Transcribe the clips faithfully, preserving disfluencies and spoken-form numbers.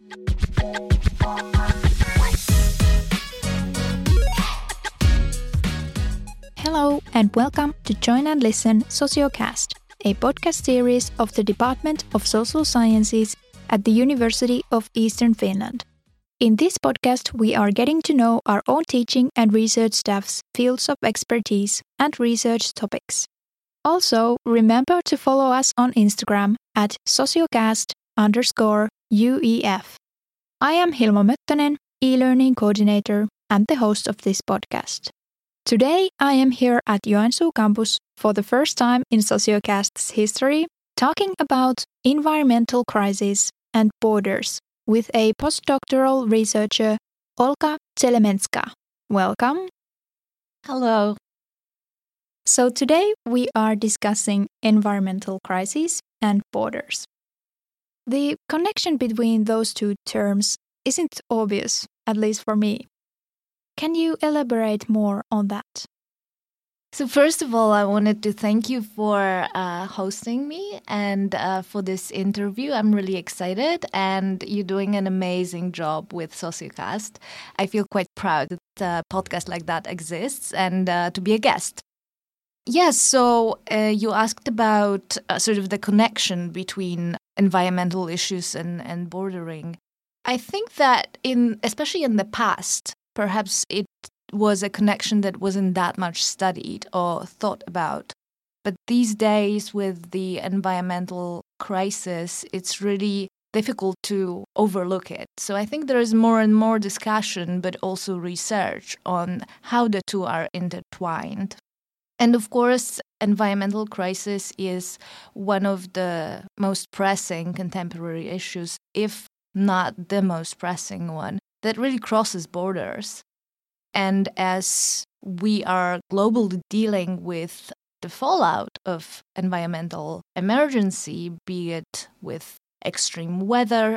Hello and welcome to Join and Listen Sociocast, a podcast series of the Department of Social Sciences at the University of Eastern Finland. In this podcast, we are getting to know our own teaching and research staff's fields of expertise and research topics. Also, remember to follow us on Instagram at sociocast underscore UEF. I am Hilma Möttönen, e-learning coordinator and the host of this podcast. Today, I am here at Joensuu campus for the first time in Sociocast's history, talking about environmental crises and borders with a postdoctoral researcher, Olga Zelemenska. Welcome. Hello. So today we are discussing environmental crises and borders. The connection between those two terms isn't obvious, at least for me. Can you elaborate more on that? So first of all, I wanted to thank you for uh, hosting me and uh, for this interview. I'm really excited and you're doing an amazing job with Sociocast. I feel quite proud that a podcast like that exists and uh, to be a guest. Yes, so uh, you asked about uh, sort of the connection between environmental issues and, and bordering. I think that in especially in the past, perhaps it was a connection that wasn't that much studied or thought about. But these days with the environmental crisis, it's really difficult to overlook it. So I think there is more and more discussion, but also research on how the two are intertwined. And of course, environmental crisis is one of the most pressing contemporary issues, if not the most pressing one, that really crosses borders. And as we are globally dealing with the fallout of environmental emergency, be it with extreme weather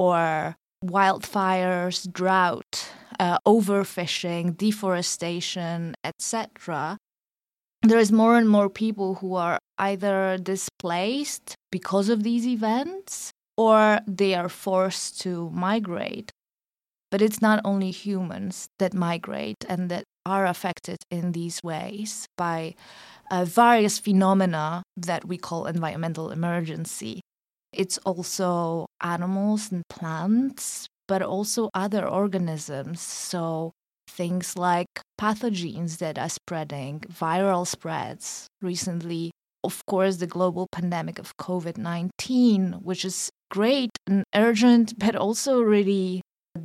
or wildfires, drought, uh, overfishing, deforestation, et cetera, there is more and more people who are either displaced because of these events or they are forced to migrate. But it's not only humans that migrate and that are affected in these ways by uh, various phenomena that we call environmental emergency. It's also animals and plants, but also other organisms. So things like pathogens that are spreading, viral spreads. Recently, of course, the global pandemic of covid nineteen, which is great and urgent, but also really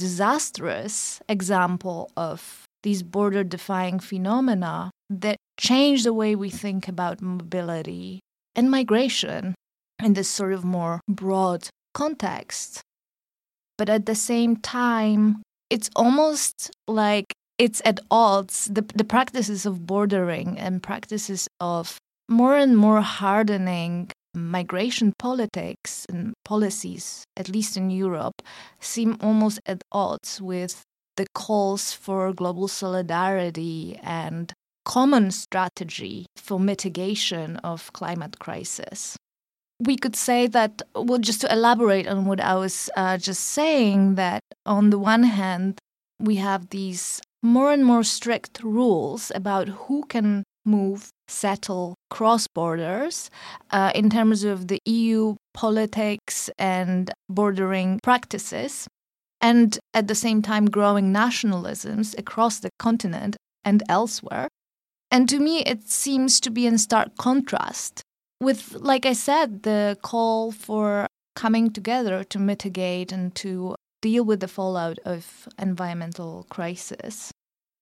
disastrous example of these border-defying phenomena that change the way we think about mobility and migration in this sort of more broad context. But at the same time, it's almost like it's at odds, the, the practices of bordering and practices of more and more hardening migration politics and policies, at least in Europe, seem almost at odds with the calls for global solidarity and common strategy for mitigation of climate crisis. We could say that, well, just to elaborate on what I was uh, just saying, that on the one hand, we have these more and more strict rules about who can move, settle, cross borders uh, in terms of the E U politics and bordering practices, and at the same time growing nationalisms across the continent and elsewhere. And to me, it seems to be in stark contrast with, like I said, the call for coming together to mitigate and to deal with the fallout of environmental crisis.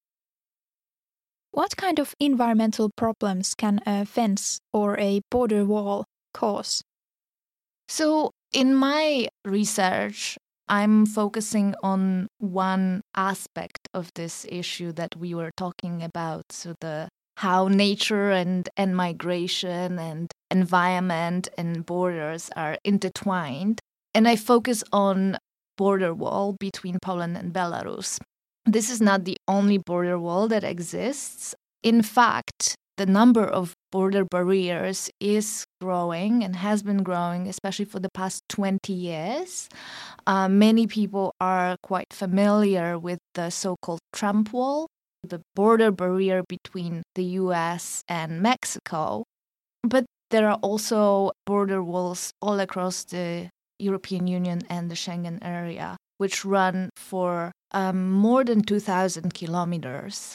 What kind of environmental problems can a fence or a border wall cause? So, in my research, I'm focusing on one aspect of this issue that we were talking about, so the how nature and, and migration and environment and borders are intertwined. And I focus on border wall between Poland and Belarus. This is not the only border wall that exists. In fact, the number of border barriers is growing and has been growing, especially for the past twenty years. Uh, many people are quite familiar with the so-called Trump Wall, the border barrier between the U S and Mexico. But there are also border walls all across the European Union and the Schengen area, which run for um, more than two thousand kilometers.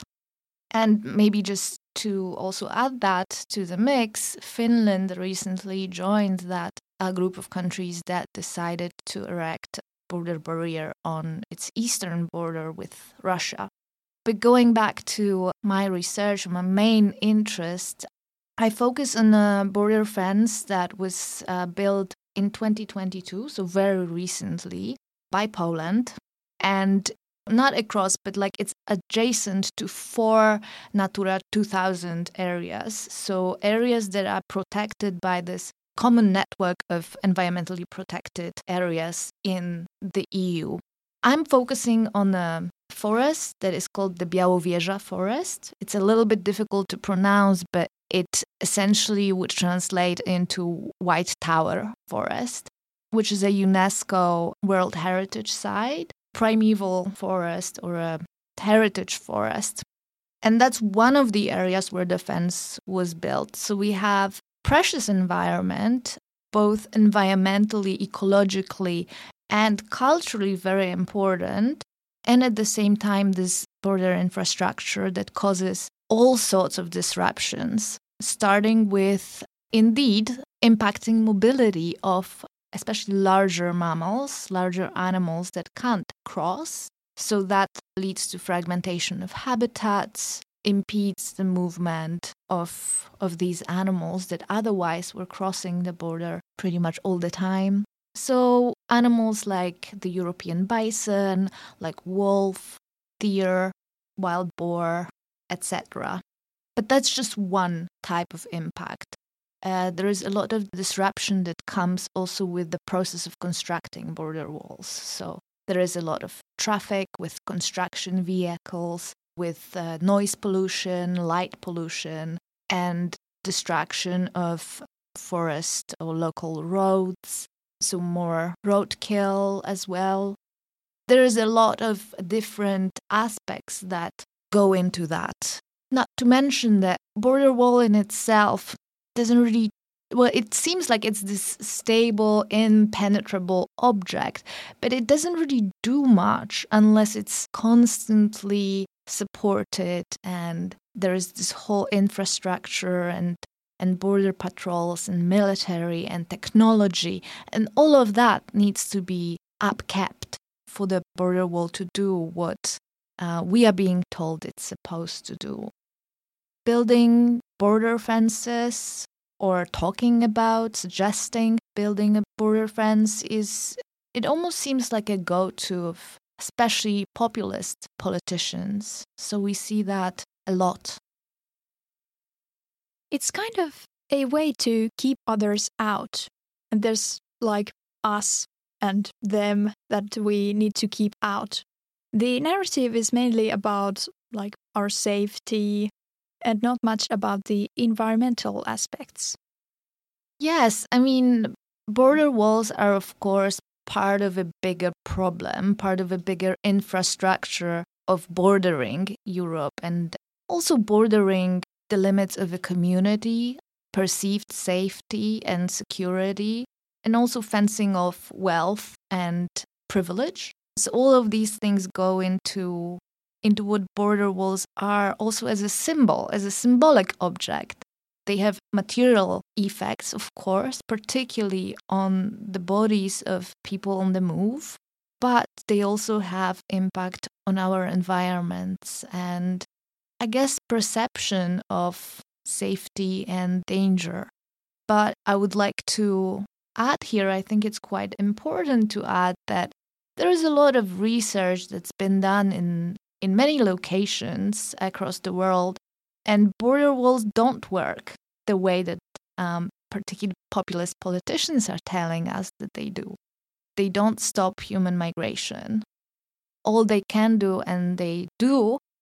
And maybe just to also add that to the mix, Finland recently joined that a group of countries that decided to erect a border barrier on its eastern border with Russia. But going back to my research, my main interest, I focus on a border fence that was uh, built in twenty twenty-two, so very recently, by Poland. And not across, but like it's adjacent to four Natura two thousand areas. So areas that are protected by this common network of environmentally protected areas in the E U. I'm focusing on a forest that is called the Białowieża forest. It's a little bit difficult to pronounce, but it essentially would translate into White Tower Forest, which is a UNESCO World Heritage Site, primeval forest or a heritage forest. And that's one of the areas where the fence was built. So we have precious environment, both environmentally, ecologically, and culturally very important. And at the same time, this border infrastructure that causes all sorts of disruptions, starting with, indeed, impacting mobility of especially larger mammals, larger animals that can't cross. So that leads to fragmentation of habitats, impedes the movement of, of these animals that otherwise were crossing the border pretty much all the time. So animals like the European bison, like wolf, deer, wild boar, et cetera. But that's just one type of impact. Uh, there is a lot of disruption that comes also with the process of constructing border walls. So there is a lot of traffic with construction vehicles, with uh, noise pollution, light pollution, and destruction of forest or local roads. So more roadkill as well. There is a lot of different aspects that go into that. Not to mention that border wall in itself doesn't really, well, it seems like it's this stable, impenetrable object, but it doesn't really do much unless it's constantly supported and there is this whole infrastructure and and border patrols and military and technology, and all of that needs to be upkept for the border wall to do what uh, we are being told it's supposed to do. Building border fences or talking about, suggesting building a border fence is, it almost seems like a go-to of especially populist politicians. So we see that a lot. It's kind of a way to keep others out. And there's like us and them that we need to keep out. The narrative is mainly about like our safety and not much about the environmental aspects. Yes, I mean, border walls are of course part of a bigger problem, part of a bigger infrastructure of bordering Europe and also bordering the limits of a community, perceived safety and security, and also fencing off wealth and privilege. So all of these things go into, into what border walls are also as a symbol, as a symbolic object. They have material effects, of course, particularly on the bodies of people on the move, but they also have impact on our environments and, I guess, perception of safety and danger. But I would like to add here, I think it's quite important to add that there is a lot of research that's been done in, in many locations across the world, and border walls don't work the way that um, particularly populist politicians are telling us that they do. They don't stop human migration. All they can do, and they do,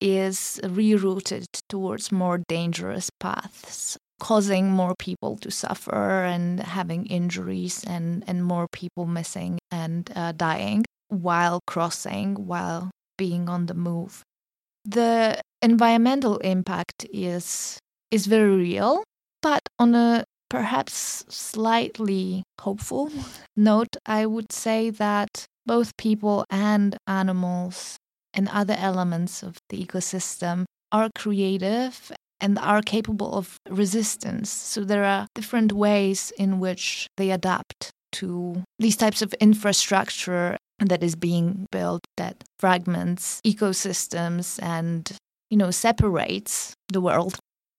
is rerouted towards more dangerous paths, causing more people to suffer and having injuries and, and more people missing and uh, dying while crossing, while being on the move. The environmental impact is is very real, but on a perhaps slightly hopeful note, I would say that both people and animals and other elements of the ecosystem are creative and are capable of resistance. So there are different ways in which they adapt to these types of infrastructure that is being built that fragments ecosystems and, you know, separates the world.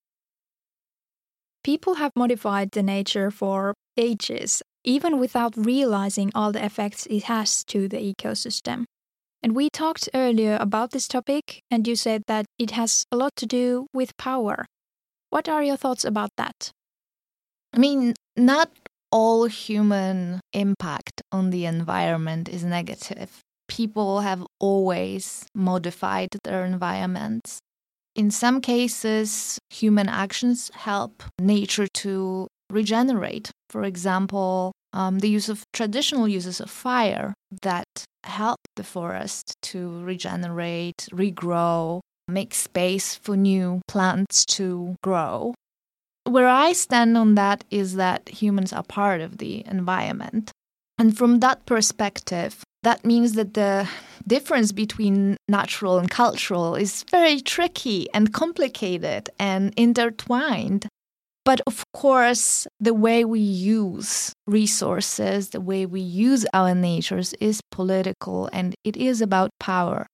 People have modified the nature for ages, even without realizing all the effects it has to the ecosystem. And we talked earlier about this topic, and you said that it has a lot to do with power. What are your thoughts about that? I mean, not all human impact on the environment is negative. People have always modified their environments. In some cases, human actions help nature to regenerate. For example, um, the use of traditional uses of fire that help the forest to regenerate, regrow, make space for new plants to grow. Where I stand on that is that humans are part of the environment. And from that perspective, that means that the difference between natural and cultural is very tricky and complicated and intertwined. But of course, the way we use resources, the way we use our natures is political, and it is about power.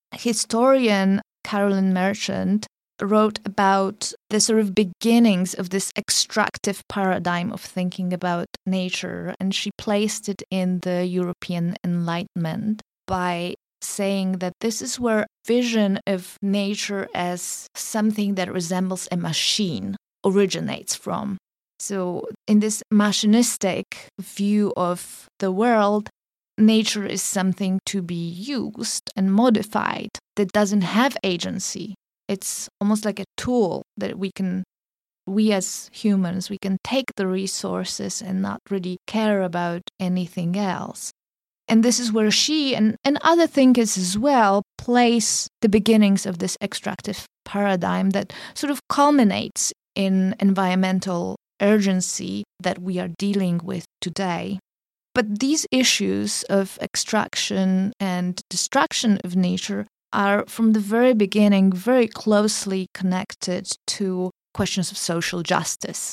Historian Carolyn Merchant wrote about the sort of beginnings of this extractive paradigm of thinking about nature, and she placed it in the European Enlightenment by saying that this is where vision of nature as something that resembles a machine originates from. So in this machinistic view of the world, nature is something to be used and modified that doesn't have agency. It's almost like a tool that we can, we as humans, we can take the resources and not really care about anything else. And this is where she and, and other thinkers as well place the beginnings of this extractive paradigm that sort of culminates in environmental urgency that we are dealing with today. But these issues of extraction and destruction of nature are from the very beginning very closely connected to questions of social justice.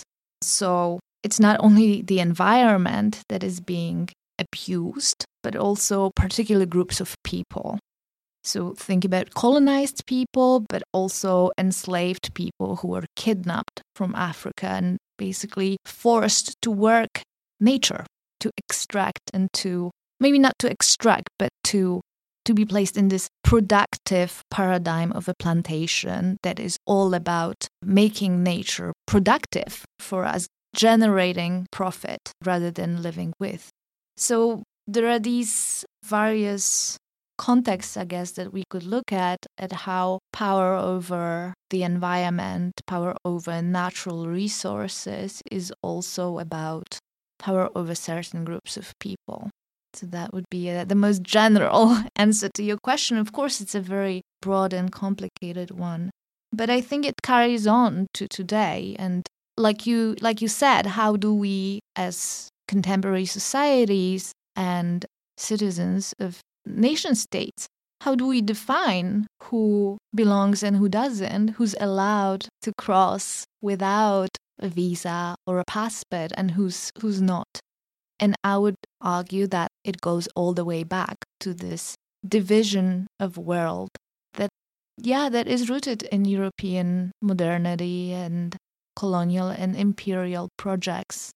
So it's not only the environment that is being abused, but also particular groups of people. So think about colonized people, but also enslaved people who were kidnapped from Africa and basically forced to work nature, to extract and to, maybe not to extract, but to to be placed in this productive paradigm of a plantation that is all about making nature productive for us, generating profit rather than living with. So there are these various contexts, I guess, that we could look at, at how power over the environment, power over natural resources is also about power over certain groups of people. So that would be uh, the most general answer to your question. Of course, it's a very broad and complicated one, but I think it carries on to today. And like you, like you said, how do we, as contemporary societies and citizens of nation states, how do we define who belongs and who doesn't, who's allowed to cross without a visa or a passport, and who's who's not? And I would argue that it goes all the way back to this division of world that, yeah, that is rooted in European modernity and colonial and imperial projects.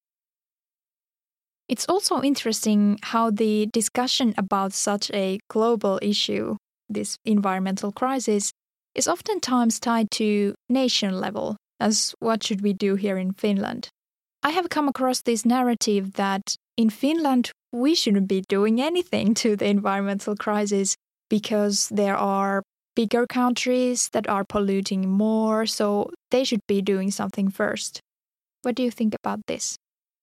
It's also interesting how the discussion about such a global issue, this environmental crisis, is oftentimes tied to nation level, as what should we do here in Finland? I have come across this narrative that in Finland we shouldn't be doing anything to the environmental crisis because there are bigger countries that are polluting more, so they should be doing something first. What do you think about this?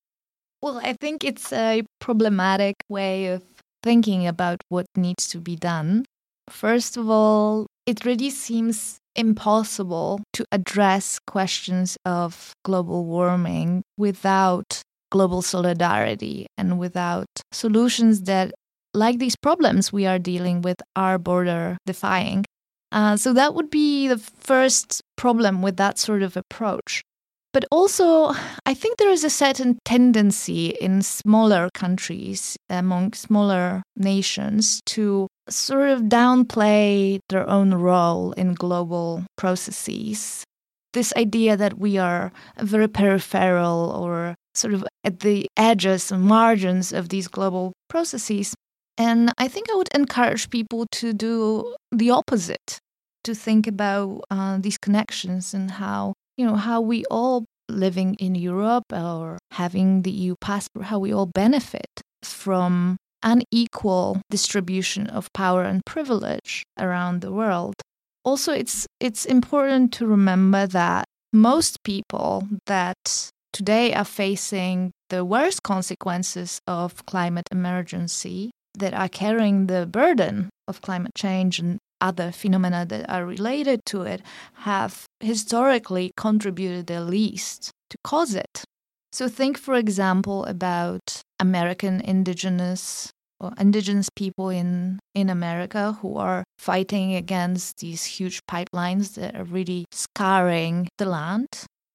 Well, I think it's a problematic way of thinking about what needs to be done. First of all, it really seems impossible to address questions of global warming without global solidarity and without solutions that, like these problems we are dealing with, are border defying. Uh, so that would be the first problem with that sort of approach. But also, I think there is a certain tendency in smaller countries, among smaller nations, to sort of downplay their own role in global processes. This idea that we are very peripheral or sort of at the edges and margins of these global processes. And I think I would encourage people to do the opposite, to think about uh, these connections and how, you know, how we all living in Europe or having the E U passport, how we all benefit from unequal distribution of power and privilege around the world. Also, it's it's important to remember that most people that today are facing the worst consequences of climate emergency, that are carrying the burden of climate change and other phenomena that are related to it, have historically contributed the least to cause it. So think, for example, about American indigenous or indigenous people in, in America who are fighting against these huge pipelines that are really scarring the land,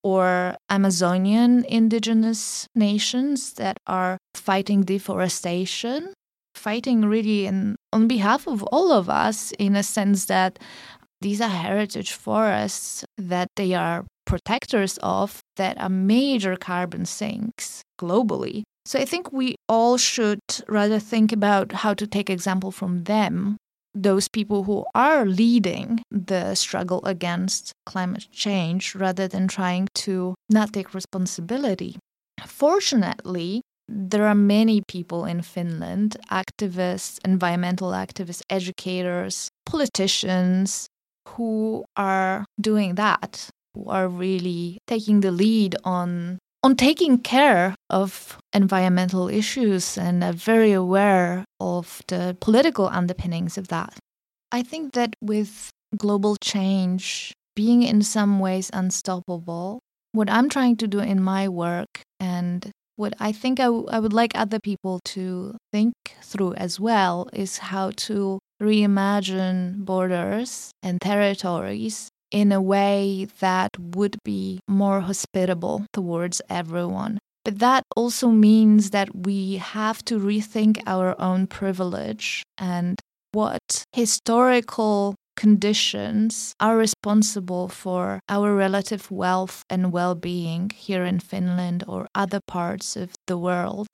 or Amazonian indigenous nations that are fighting deforestation, fighting really in, on behalf of all of us, in a sense that these are heritage forests that they are protectors of, that are major carbon sinks globally. So I think we all should rather think about how to take example from them, those people who are leading the struggle against climate change, rather than trying to not take responsibility. Fortunately, there are many people in Finland, activists, environmental activists, educators, politicians, who are doing that, who are really taking the lead on, on taking care of environmental issues and are very aware of the political underpinnings of that. I think that with global change being in some ways unstoppable, what I'm trying to do in my work, and what I think I, w- I would like other people to think through as well, is how to reimagine borders and territories in a way that would be more hospitable towards everyone. But that also means that we have to rethink our own privilege and what historical conditions are responsible for our relative wealth and well-being here in Finland or other parts of the world.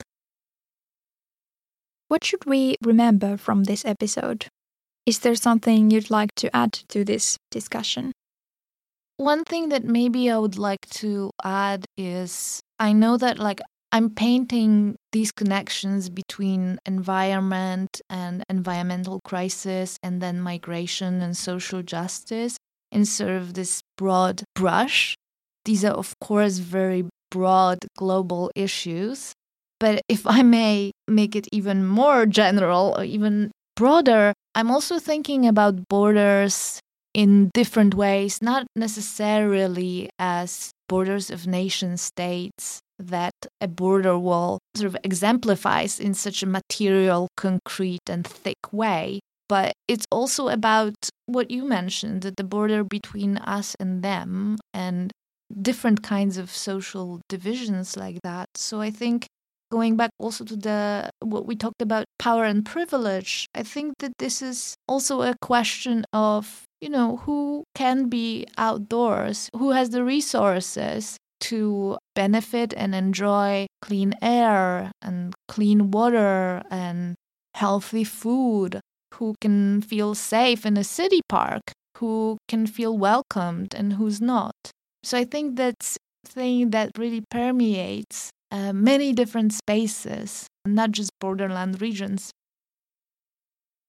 What should we remember from this episode? Is there something you'd like to add to this discussion? One thing that maybe I would like to add is, I know that like I'm painting these connections between environment and environmental crisis and then migration and social justice in sort of this broad brush. These are, of course, very broad global issues. But if I may make it even more general or even broader, I'm also thinking about borders in different ways, not necessarily as borders of nation states that a border wall sort of exemplifies in such a material, concrete and thick way. But it's also about what you mentioned, that the border between us and them and different kinds of social divisions like that. So I think going back also to the what we talked about, power and privilege, I think that this is also a question of, you know, who can be outdoors, who has the resources to benefit and enjoy clean air and clean water and healthy food, who can feel safe in a city park, who can feel welcomed and who's not. So I think that's a thing that really permeates uh, many different spaces, not just borderland regions.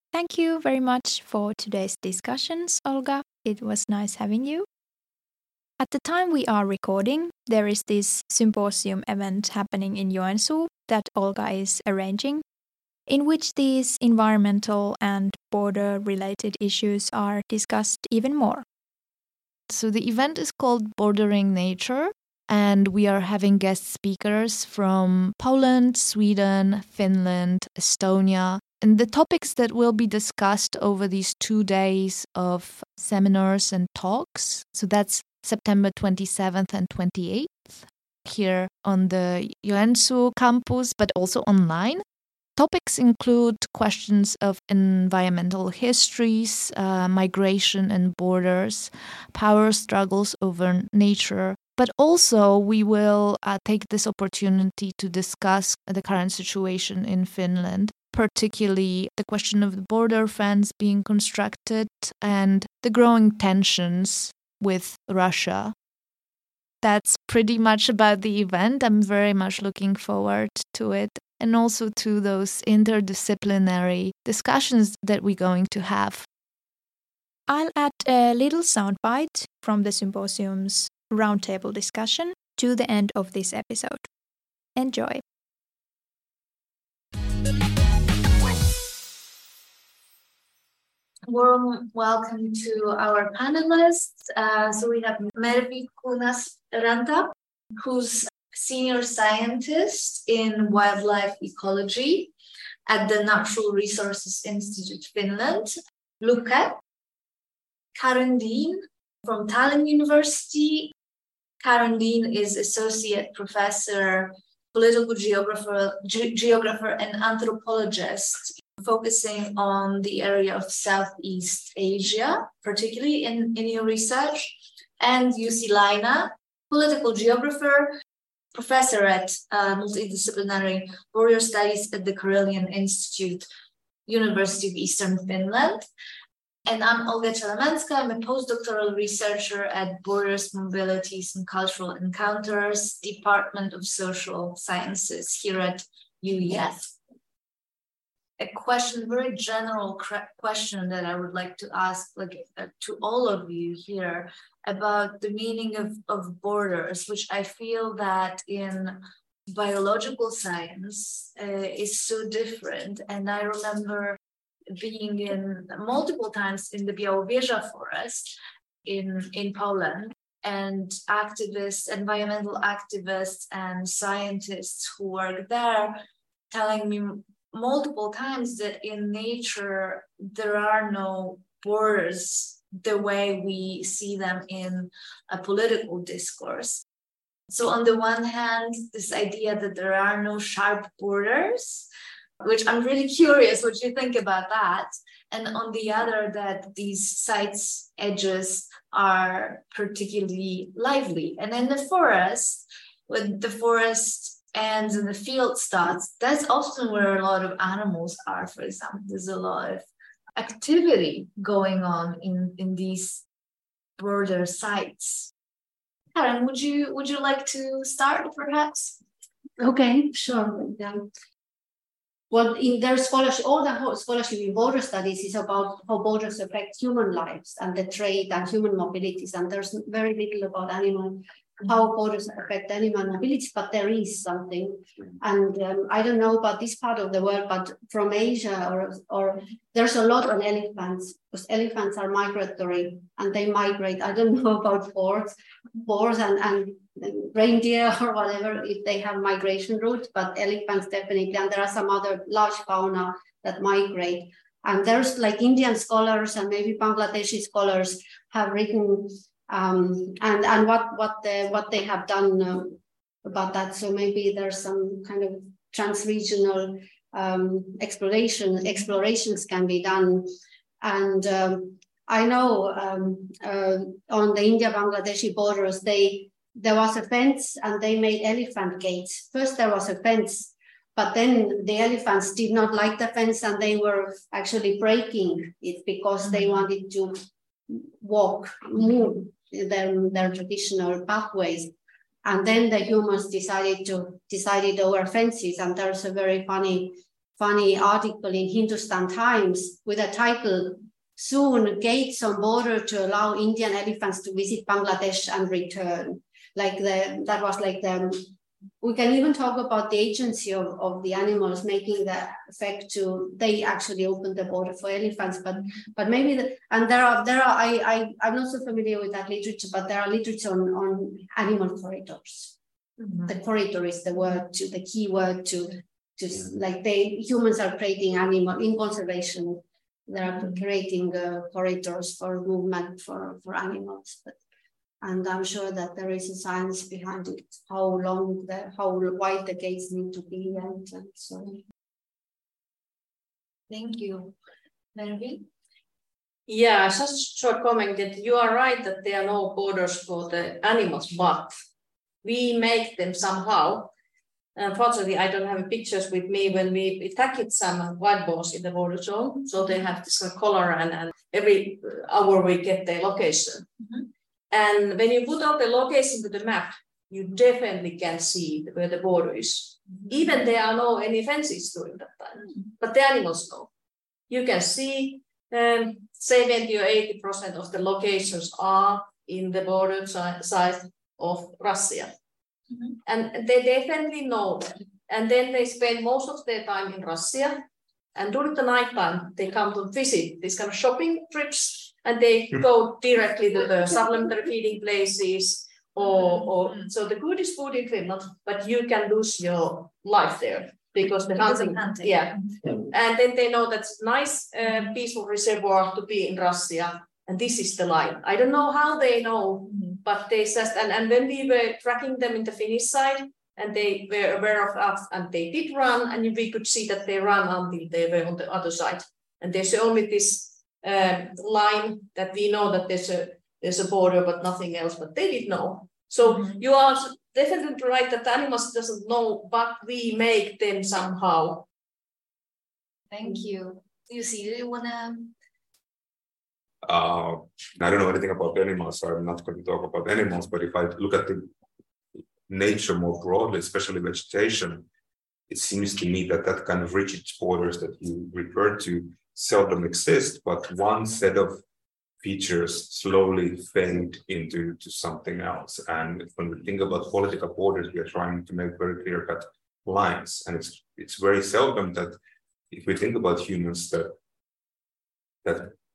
Thank you very much for today's discussions, Olga. It was nice having you. At the time we are recording, there is this symposium event happening in Joensuu that Olga is arranging, in which these environmental and border-related issues are discussed even more. So the event is called Bordering Nature, and we are having guest speakers from Poland, Sweden, Finland, Estonia. And the topics that will be discussed over these two days of seminars and talks, so that's September twenty-seventh and twenty-eighth, here on the Joensuu campus, but also online. Topics include questions of environmental histories, uh, migration and borders, power struggles over nature, but also we will uh, take this opportunity to discuss the current situation in Finland, particularly the question of the border fence being constructed and the growing tensions with Russia. That's pretty much about the event. I'm very much looking forward to it, and also to those interdisciplinary discussions that we're going to have. I'll add a little soundbite from the symposium's roundtable discussion to the end of this episode. Enjoy. Warm welcome to our panelists. Uh, so we have Mervi Kunasranta, who's senior scientist in wildlife ecology at the Natural Resources Institute Finland. Luke, Karen Dean from Tallinn University. Karen Dean is associate professor, political geographer, ge- geographer and anthropologist, focusing on the area of Southeast Asia, particularly in, in your research. And Jussi Laina, political geographer, professor at uh, multidisciplinary border studies at the Karelian Institute, University of Eastern Finland. And I'm Olga Chelemenska. I'm a postdoctoral researcher at Borders, Mobilities and Cultural Encounters, Department of Social Sciences here at U E F. A question, very general question that I would like to ask like, uh, to all of you here about the meaning of, of borders, which I feel that in biological science uh, is so different. And I remember being in multiple times in the Białowieża forest in, in Poland, and activists, environmental activists and scientists who work there telling me multiple times that in nature there are no borders the way we see them in a political discourse. So on the one hand, this idea that there are no sharp borders, which I'm really curious what you think about that. And on the other, that these sites' edges are particularly lively. And in the forest, when the forest ends and the field starts, that's often where a lot of animals are, for example. There's a lot of activity going on in, in these border sites. Karen, would you would you like to start, perhaps? Okay, sure. Yeah. Well, in their scholarship, all the whole scholarship in border studies is about how borders affect human lives and the trade and human mobilities. And there's very little about animal, how borders affect animal mobilities, but there is something. And um, I don't know about this part of the world, but from Asia, or, or there's a lot on elephants, because elephants are migratory and they migrate. I don't know about boars, boars and, and reindeer or whatever, if they have migration routes, but elephants definitely. And there are some other large fauna that migrate. And there's like Indian scholars and maybe Bangladeshi scholars have written um, and and what what they what they have done uh, about that. So maybe there's some kind of transregional um, exploration explorations can be done. And um, I know um, uh, on the India-Bangladeshi borders, they there was a fence and they made elephant gates. First there was a fence, but then the elephants did not like the fence and they were actually breaking it because they wanted to walk, move their, their traditional pathways. And then the humans decided to decided over fences. And there's a very funny funny article in Hindustan Times with a title, "Soon gates on border to allow Indian elephants to visit Bangladesh and return." Like the, that was like the, we can even talk about the agency of, of the animals making the effect to, they actually opened the border for elephants, but but maybe, the, and there are, there are I, I, I'm not so familiar with that literature, but there are literature on, on animal corridors. Mm-hmm. The corridor is the word, to the key word to, to like they, humans are creating animal, in conservation, they are creating uh, corridors for movement for, for animals. But And I'm sure that there is a science behind it, how long, the, how wide the gates need to be, and, and so on. Thank you. Mervi? Yeah, just a short comment that you are right that there are no borders for the animals, but we make them somehow. Unfortunately, I don't have pictures with me when we attacked some wild boars in the border zone, so they have this color, and, and every hour we get their location. Mm-hmm. And when you put out the location to the map, you definitely can see where the border is. Mm-hmm. Even there are no any fences during that time, mm-hmm. but the animals know. You can see um, seventy or eighty percent of the locations are in the border side of Russia. Mm-hmm. And they definitely know that. And then they spend most of their time in Russia. And during the night time, they come to visit these kind of shopping trips. And they go directly to the supplementary feeding places, or, or so the good is food in Finland, but you can lose your life there because the hunting, hunting, yeah. And then they know that's nice, uh, peaceful reservoir to be in Russia, and this is the line. I don't know how they know, mm-hmm. but they just, and, and when we were tracking them in the Finnish side, and they were aware of us, and they did run, and we could see that they ran until they were on the other side. And there's only this Um, line that we know that there's a there's a border, but nothing else. But they did know. So mm-hmm. you are definitely right that animals doesn't know, but we make them somehow. Thank you. You see, do you wanna? Uh, I don't know anything about animals, so I'm not going to talk about animals. But if I look at the nature more broadly, especially vegetation, it seems to me that that kind of rigid borders that you referred to seldom exist, but one set of features slowly fade into to something else. And when we think about political borders, we are trying to make very clear-cut lines. And it's it's very seldom that if we think about humans, that that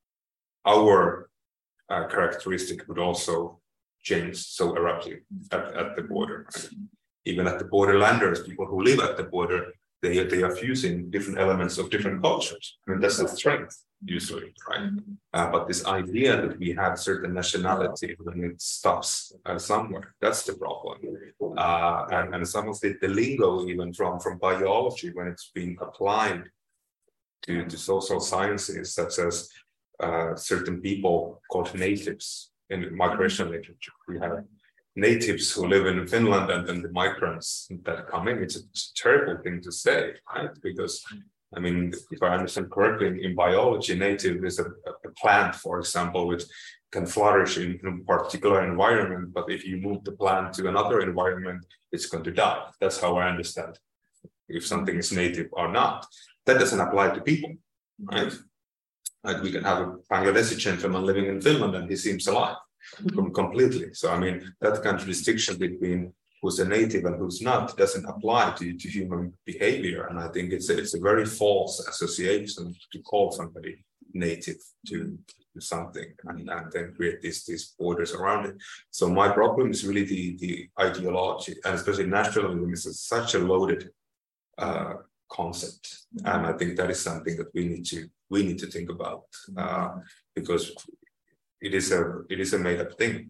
our uh, characteristic would also change so abruptly at, at the border. Right? Even at the borderlanders, people who live at the border, They, they are fusing different elements of different cultures. I mean, that's the strength, usually, right? Mm-hmm. Uh, but this idea that we have certain nationality when it stops uh, somewhere, that's the problem. Uh, and, and some of the, the lingo, even from, from biology, when it's being applied to, to social sciences, such as uh, certain people called natives in migration literature. We have natives who live in Finland and then the migrants that come in. It's a, it's a terrible thing to say, right? Because, I mean, if I understand correctly, in, in biology, native is a, a plant, for example, which can flourish in, in a particular environment, but if you move the plant to another environment, it's going to die. That's how I understand if something is native or not. That doesn't apply to people, right? Like we can have a Bangladeshi gentleman living in Finland and he seems alive. Completely. So, I mean, that kind of distinction between who's a native and who's not doesn't apply to, to human behavior. And I think it's a, it's a very false association to call somebody native to, to something and, and then create these, these borders around it. So my problem is really the, the ideology, and especially nationalism is such a loaded uh, concept. And I think that is something that we need to we need to think about uh, because It is a it is a made up thing.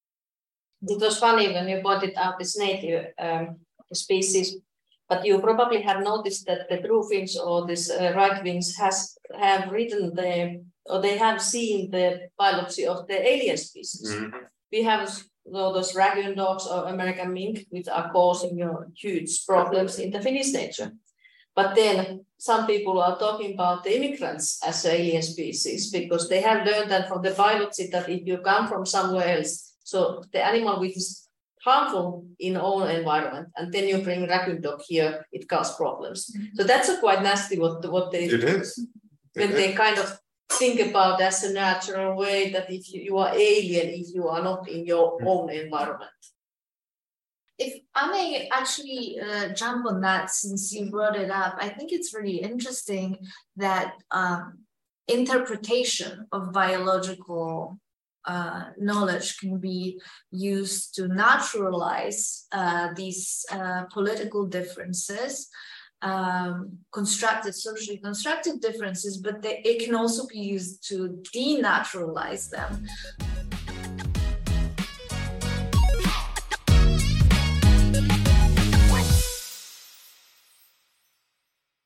It was funny when you pointed out this native um, species, but you probably have noticed that the true Finns or this uh, right wings has have written the or they have seen the biology of the alien species. Mm-hmm. We have you know, those raccoon dogs or American mink, which are causing you know, huge problems in the Finnish nature. But then some people are talking about the immigrants as alien species because they have learned that from the biology that if you come from somewhere else, so the animal which is harmful in own environment, and then you bring raccoon dog here, it causes problems. Mm-hmm. So that's a quite nasty what what they It is. when It they is. kind of think about as a natural way that if you, you are alien if you are not in your own environment. If I may actually uh, jump on that since you brought it up, I think it's really interesting that um, interpretation of biological uh, knowledge can be used to naturalize uh, these uh, political differences, um, constructed, socially constructed differences, but they, it can also be used to denaturalize them.